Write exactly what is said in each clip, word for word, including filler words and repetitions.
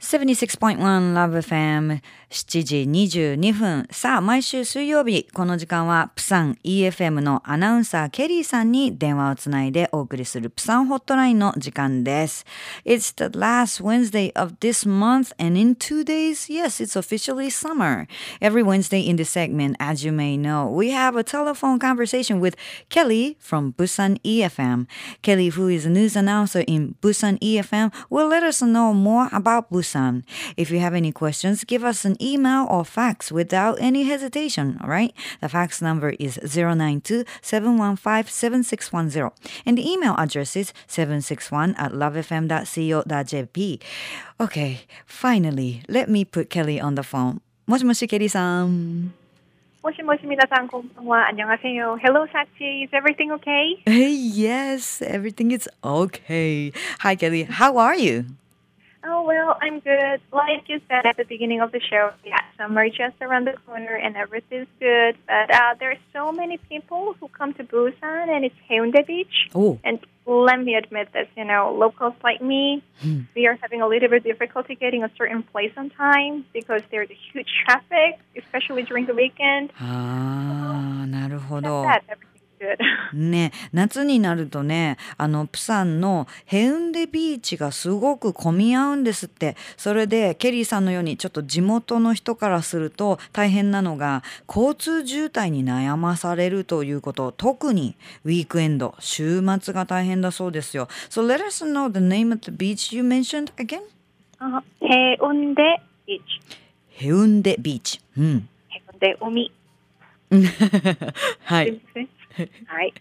ななじゅうろくてんいち Love エフエム しちじにじゅうにふん。さあ、毎週水曜日、この時間はプサン イーエフエム のアナウンサーケリーさんに電話をつないでお送りするプサンホットラインの時間です。It's the last Wednesday of this month and in two days, yes, it's officially summer. Every Wednesday in this segment, as you may know, we have a telephone conversation with Kelly from Busan イーエフエム. Kelly, who is a news announcer in Busan イーエフエム, will let us know more about Busan. If you have any questions, give us an email or fax without any hesitation, all right? The fax number is zero nine two, seven one five, seven six one zero. And the email address is seven six one at lovefm dot co dot jp. Okay, finally, let me put Kelly on the phone. もしもし、ケリーさん。 もしもし、皆さん、こんばんは。안녕하세요. Hello, Sachi. Is everything okay? Hey, yes, everything is okay. Hi, Kelly. How are you? Oh, well, I'm good. Like you said at the beginning of the show, yeah, summer just around the corner and everything's good. But uh, there are so many people who come to Busan and it's Haeundae Beach. Oh. And let me admit this, you know, locals like me, we are having a little bit of difficulty getting a certain place on time because there's a huge traffic, especially during the weekend. ああ、なるほど。 That's that. Everything's good. ね、夏になるとね、あのプサンのヘウンデビーチがすごく混み合うんですって。それでケリーさんのようにちょっと地元の人からすると大変なのが交通渋滞に悩まされるということ。特にウィークエンド、週末が大変だそうですよ。So let us know the name of the beach you mentioned again? Uh, Haeundae Beach. ヘウンデビーチ。うん。 Haeundae Umi. はい。 Right.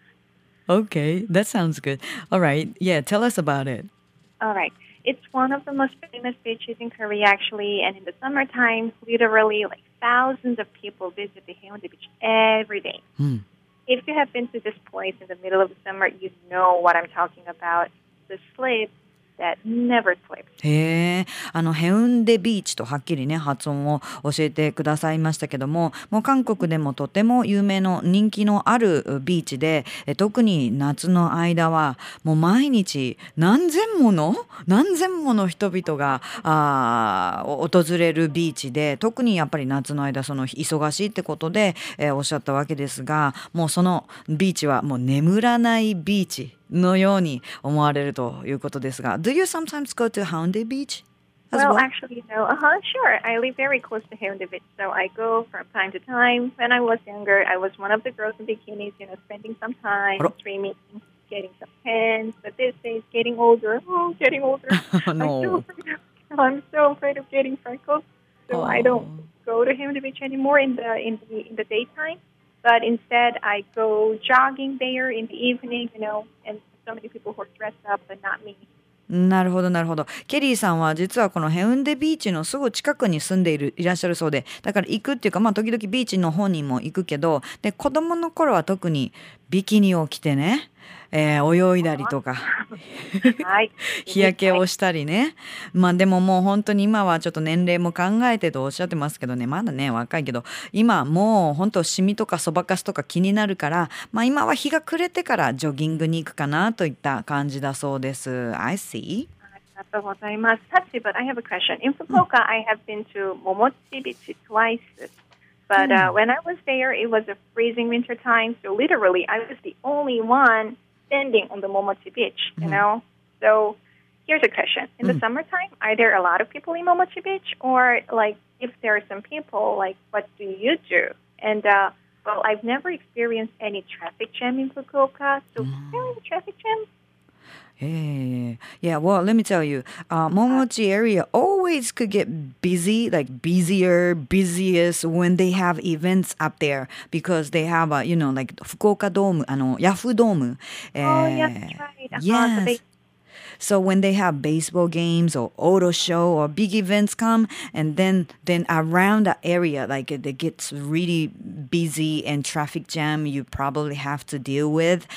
Okay, that sounds good. All right. Yeah, tell us about it. All right. It's one of the most famous beaches in Korea, actually. And in the summertime, literally, like thousands of people visit the Haeundae Beach every day. Mm. If you have been to this place in the middle of the summer, you know what I'm talking about. The slip that never slips. へえ、あのヘウンデビーチとはっきりね発音を教えてくださいましたけども、もう韓国でもとても有名の人気のあるビーチで、え特に夏の間はもう毎日何千もの何千もの人々があ訪れるビーチで、特にやっぱり夏の間その忙しいってことで、えー、おっしゃったわけですが、もうそのビーチはもう眠らないビーチのように思われるということですが、 Do you sometimes go to Haeundae Beach as well? well? Well, actually, no. Uh-huh, sure. I live very close to Haeundae Beach, so I go from time to time. When I was younger, I was one of the girls in bikinis, you know, spending some time streaming, getting some pens. But these days, getting older, oh, getting older. No. I'm so afraid of, I'm so afraid of getting freckles, so oh. I don't go to Haeundae Beach anymore in the in the in the daytime. But instead, I go jogging there in the evening, you know, and so many people who are dressed up, but not me. なるほどなるほど。ケリーさんは実はこのヘウンデビーチのすぐ近くに住んでいるいらっしゃるそうで、だから行くっていうか、まあ時々ビーチの方にも行くけど、で子供の頃は特にビキニを着てね、えー、泳いだりとか日焼けをしたりね。まあでももう本当に今はちょっと年齢も考えてとおっしゃってますけどね、まだね若いけど、今もう本当シミとかそばかすとか気になるから、まあ今は日が暮れてからジョギングに行くかなといった感じだそうです。 I see. ありがとうございます。Sachi, but I have a question. In Fukuoka, I have been to Momochi Beach twice. But uh, when I was there, it was a freezing winter time. So literally, I was the only one standing on the Momochi Beach, you know? So here's a question. In the summertime, are there a lot of people in Momochi Beach? Or, like, if there are some people, like, what do you do? And, uh, well, I've never experienced any traffic jam in Fukuoka. So is there any traffic jam? Hey, yeah, well, let me tell you, uh, Momochi area always could get busy, like busier, busiest when they have events up there because they have, a, you know, like Fukuoka Dome, あの、ヤフードーム。 Oh, yeah, that's right. Uh-huh, Yes. so they- So when they have baseball games or auto show or big events come, and then then around the area, like it, it gets really busy and traffic jam you probably have to deal with.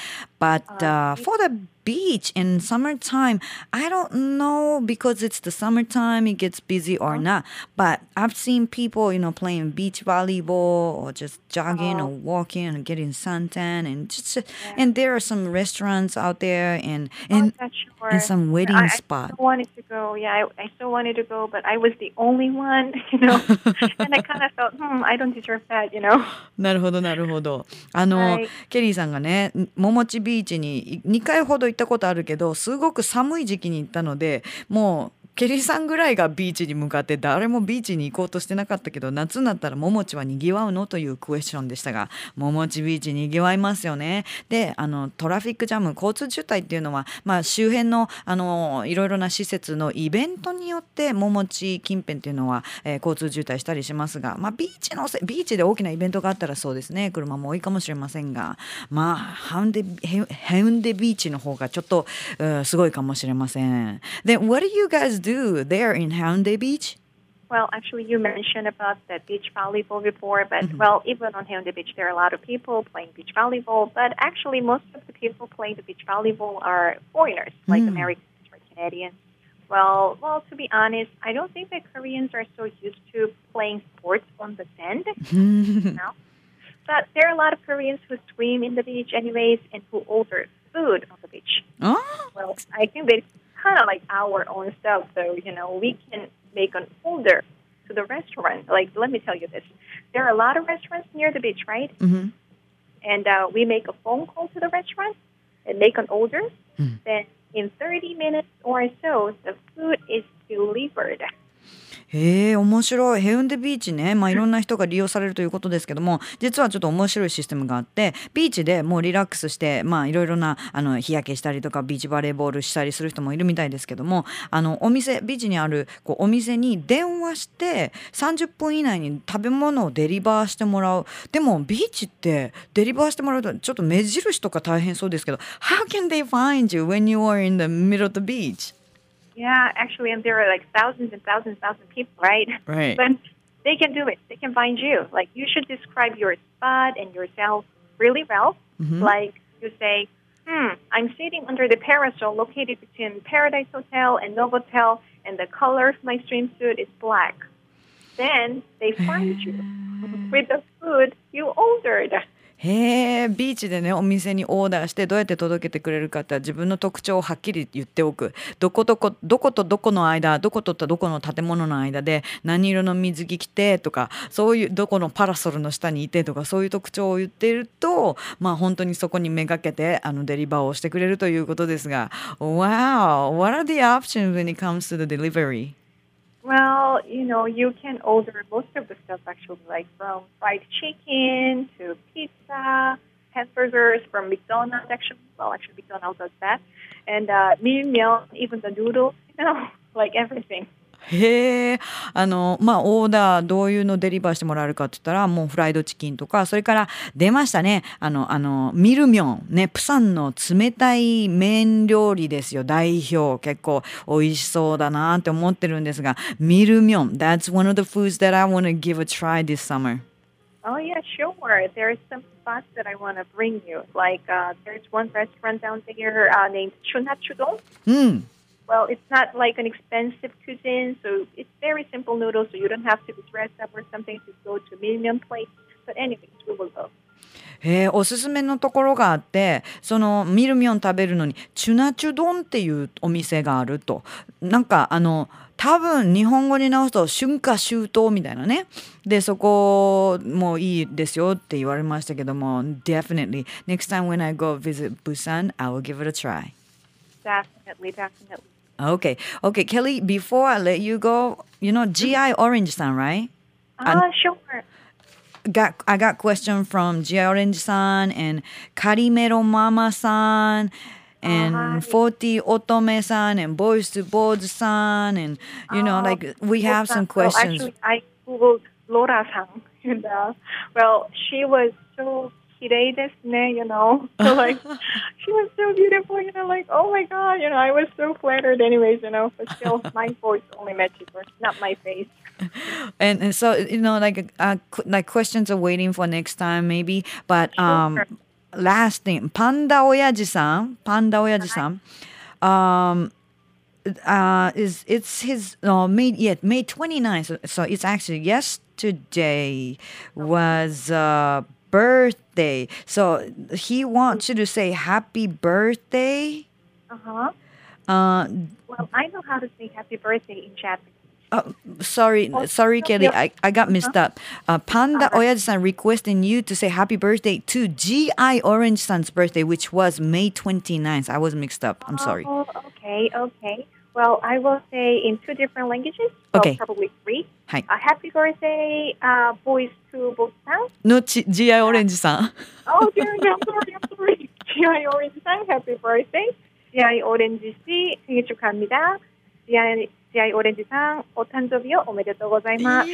But Uh, uh, for the beach in summertime, I don't know because it's the summertime, it gets busy or not. But I've seen people, you know, playing beach volleyball or just jogging or oh, walking and getting suntan and just yeah. and there are some restaurants out there and Oh, and yeah, and sure. some Yeah, wedding I, I spot. still wanted to go. Yeah, I, I still wanted to go, but I was the only one, you know. And I kind of felt, hmm, I don't deserve that, you know. なるほどなるほど。あの Right. ケリーさんがねももちビーチににかいほど行ったことあるけどすごく寒い時期に行ったのでもうケリーさんぐらいがビーチに向かって誰もビーチに行こうとしてなかったけど夏になったらももちはにぎわうのというクエスチョンでしたがももちビーチにぎわいますよね。であのトラフィックジャム交通渋滞っていうのは、まあ、周辺のあのいろいろな施設のイベントによってももち近辺っていうのは、えー交通渋滞したりしますが、まあ、ビーチのせビーチで大きなイベントがあったらそうですね車も多いかもしれませんがまあハウンデヘヘウンデビーチの方がちょっと、うんすごいかもしれません。Then what do you guys do there in Haeundae Beach? Well, actually, you mentioned about the beach volleyball before, but well, even on Haeundae Beach, there are a lot of people playing beach volleyball. But actually, most of the people playing the beach volleyball are foreigners, like Americans or Canadians. Well, well, to be honest, I don't think that Koreans are so used to playing sports on the sand. you know? But there are a lot of Koreans who swim in the beach anyways and who order food on the beach. Oh? Well, I think that's kind of like our own stuff, so, you know, we can make an order to the restaurant. Like, let me tell you this. There are a lot of restaurants near the beach, right? Mm-hmm. And uh, we make a phone call to the restaurant and make an order. Mm. Then in thirty minutes or so, the food is delivered. へえ面白いヘウンデビーチね、まあ、いろんな人が利用されるということですけども実はちょっと面白いシステムがあってビーチでもうリラックスしてまあいろいろなあの日焼けしたりとかビーチバレーボールしたりする人もいるみたいですけどもあのお店ビーチにあるこうお店に電話してさんじゅっぷん以内に食べ物をデリバーしてもらう。でもビーチってデリバーしてもらうとちょっと目印とか大変そうですけど How can they find you when you are in the middle of the beach? Yeah, actually, and there are like thousands and thousands and thousands of people, right? Right. But they can do it. They can find you. Like, you should describe your spot and yourself really well. Mm-hmm. Like, you say, hmm, I'm sitting under the parasol located between Paradise Hotel and Novotel, and the color of my swimsuit is black. Then they find you with the food you ordered. へえビーチでねお店にオーダーしてどうやって届けてくれるかって自分の特徴をはっきり言っておくどこどこどことどこの間どことどこの建物の間で何色の水着着てとかそういうどこのパラソルの下にいてとかそういう特徴を言っているとまあ本当にそこにめがけてあのデリバーをしてくれるということですが Wow! What are the options when it comes to the delivery? Well, you know, you can order most of the stuff actually, like from fried chicken to pizza, hamburgers from McDonald's actually. Well, actually, McDonald's does that. And uh, milmyeon, even the noodles, you know, like everything. へえあのまあオーダーどういうのデリバーしてもらえるかって言ったらもうフライドチキンとかそれから出ましたねあのあのミルミョンねプサンの冷たい麺料理ですよ代表結構美味しそうだなって思ってるんですがミルミョン That's one of the foods that I want to give a try this summer. Oh, yeah, sure. There's some spots that I want to bring you. Like, uh, there's one restaurant down there uh, named Chunhachudong. うん Well, it's not like an expensive cuisine, so it's very simple noodles, so you don't have to be dressed up or something to go to a million place. But anyways, we will go. へえおすすめのところがあってそのミルミョン食べるのにチュナチュドンっていうお店があるとなんかあの多分日本語に直すと春夏秋冬みたいなねでそこもいいですよって言われましたけども Definitely next time when I go visit Busan I will give it a try. Definitely, definitely. Okay, okay, Kelly. Before I let you go, you know G I Orange-san, right? Ah, sure. Got I got question from G I Orange-san and Karimero Mama-san and Hi. forty Otome-san and Boys to Boards-san and you know Oh, like we have some well, questions. actually, I googled Laura-san, and uh, well, she was so kirei desu ne, you know. So like, she was so beautiful, you know. Like, oh my god, you know, I was so flattered, anyways, you know. But still, my voice only matches her, not my face. and, and so you know like uh, qu- like questions are waiting for next time maybe but um Sure. last thing, パンダ親父さん、パンダ親父さん、um, uh, is it's his uh, May yeah May twenty-ninth. So, so it's actually yesterday was uh, birthday. So he wants you to say happy birthday. Uh-huh. Uh, well, I know how to say happy birthday in Japanese. Oh, sorry, oh, sorry, Kelly. I, I got mixed up. Uh, Panda uh, Oyaji-san requesting you to say happy birthday to G I Orange-san's birthday, which was May twenty-ninth. I was mixed up. I'm sorry. Oh, okay, okay. Well, I will say in two different languages. So okay. Probably three. Hi. Uh, happy birthday, uh, boys to both sounds. No, G I Orange-san. Oh, dear, I'm sorry, I'm sorry. G I Orange-san, happy birthday. G I Orange-씨, 생일 축하합니다. G Iジアイオレンジさん、お誕生日をおめでとうございます。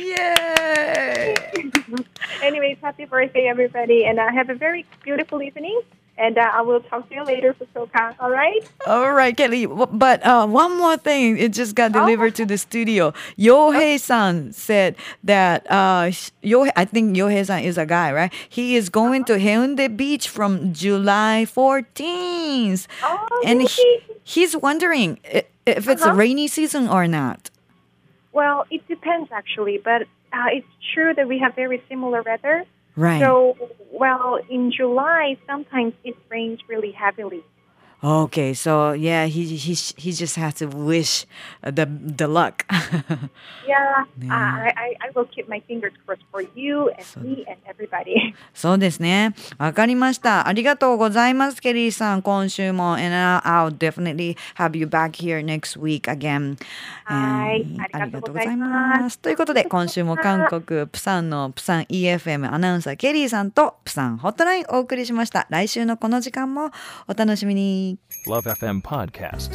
Yay! Anyways, happy birthday, everybody, and uh, have a very beautiful evening. And uh, I will talk to you later, Fukuoka. All right? All right, Kelly. But uh, one more thing, it just got delivered oh. to the studio. Yohei-san said that uh, Yohei, I think Yohei-san is a guy, right? He is going uh-huh. to Haeundae Beach from July fourteenth, oh, and really? he, he's wondering if it's uh-huh. a rainy season or not. Well, it depends actually, but uh, it's true that we have very similar weather. Right. So, well, in July, sometimes it rains really heavily. Okay, so yeah, he he he just has to wish the the luck. yeah, yeah. Uh, I I will keep my fingers crossed for you and so, me and everybody. そうですね。わかりました。ありがとうございます、ケリーさん。今週も and I'll definitely have you back here next week again. はい、 ありがとうございます。ということで今週も韓国プサンのプサン イーエフエム アナウンサーケリーさんとプサンホットラインお送りしました。来週のこの時間もお楽しみに。 Love エフエム Podcast。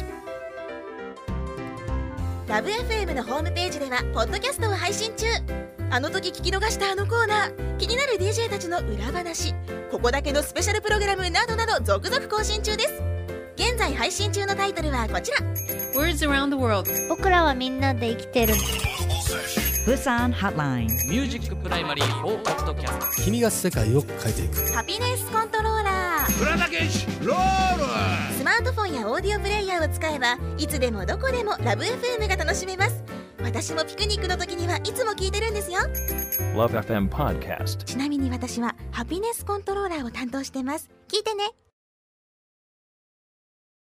ラブ エフエム のホームページではポッドキャストを配信中。あの時聞き逃したあのコーナー、気になる ディージェー たちの裏話、ここだけのスペシャルプログラムなどなど続々更新中です。現在配信中のタイトルはこちら。 Words around the world。 僕らはみんなで生きてる。 プサンハットライン。 ミュージックプライマリーフォーポッドキャスト。 君が世界を変えていく。 ハピネスコントローラー。 浦田健志ロール。 スマートフォンやオーディオプレイヤーを使えばいつでもどこでもラブ エフエム が楽しめます。私もピクニックの時にはいつも聞いてるんですよ。 Love エフエム Podcast。 ちなみに私はハピネスコントローラーを担当してます。聞いてね。